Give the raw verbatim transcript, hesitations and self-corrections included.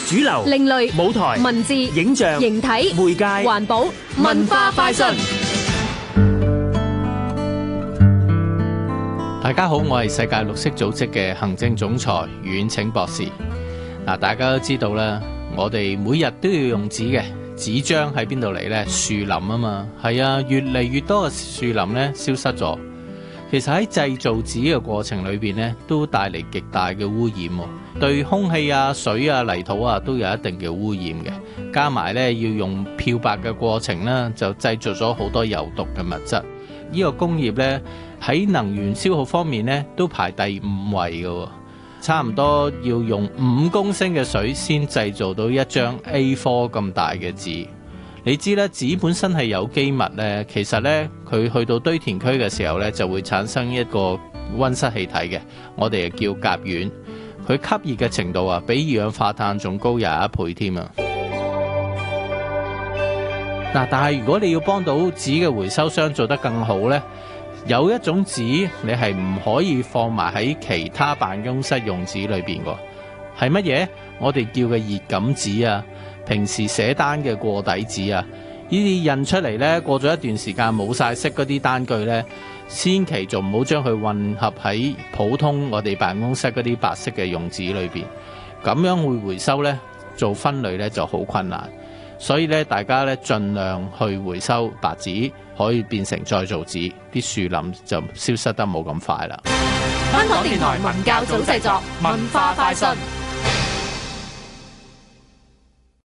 主流、 另類、 舞台、 文字、 影像、 形體、 媒介、 環保、文化快訊。 大家好，我係世界綠色組織嘅行政總裁阮清博士。嗱，大家都知道啦，我哋每日都要用紙嘅，紙張喺邊度嚟呢？樹林啊嘛，係啊，越嚟越多嘅樹林呢消失咗。其實喺製造紙嘅過程裏邊呢，都帶嚟極大嘅污染，對空氣啊、水啊、泥土啊都有一定嘅污染嘅。加埋呢，要用漂白嘅過程啦，就製造咗好多有毒嘅物質。呢個工業呢，喺能源消耗方面呢，都排第五位嘅，差唔多要用五公升嘅水先製造到一張 A 四 咁大嘅紙。你知咧，紙本身係有機物呢，其實呢，佢去到堆填區嘅時候呢，就會產生一個溫室氣體嘅，我哋叫甲烷。佢吸熱嘅程度啊，比二氧化碳仲高廿一倍添啊！嗱，但係如果你要幫到紙嘅回收商做得更好呢，有一種紙你係唔可以放埋喺其他辦公室用紙裏邊㗎，係乜嘢？我哋叫嘅熱感紙啊，平時寫單嘅過底紙啊，呢啲印出嚟呢，過咗一段時間冇晒色嗰啲單據呢，千祈就唔好將佢混合喺普通我哋辦公室嗰啲白色嘅用紙裏邊，咁樣會回收呢，做分類呢就好困難。所以咧，大家咧盡量去回收白紙，可以變成再造紙，啲樹林就消失得冇咁快啦。 香港電台文教組製作，文化快訊。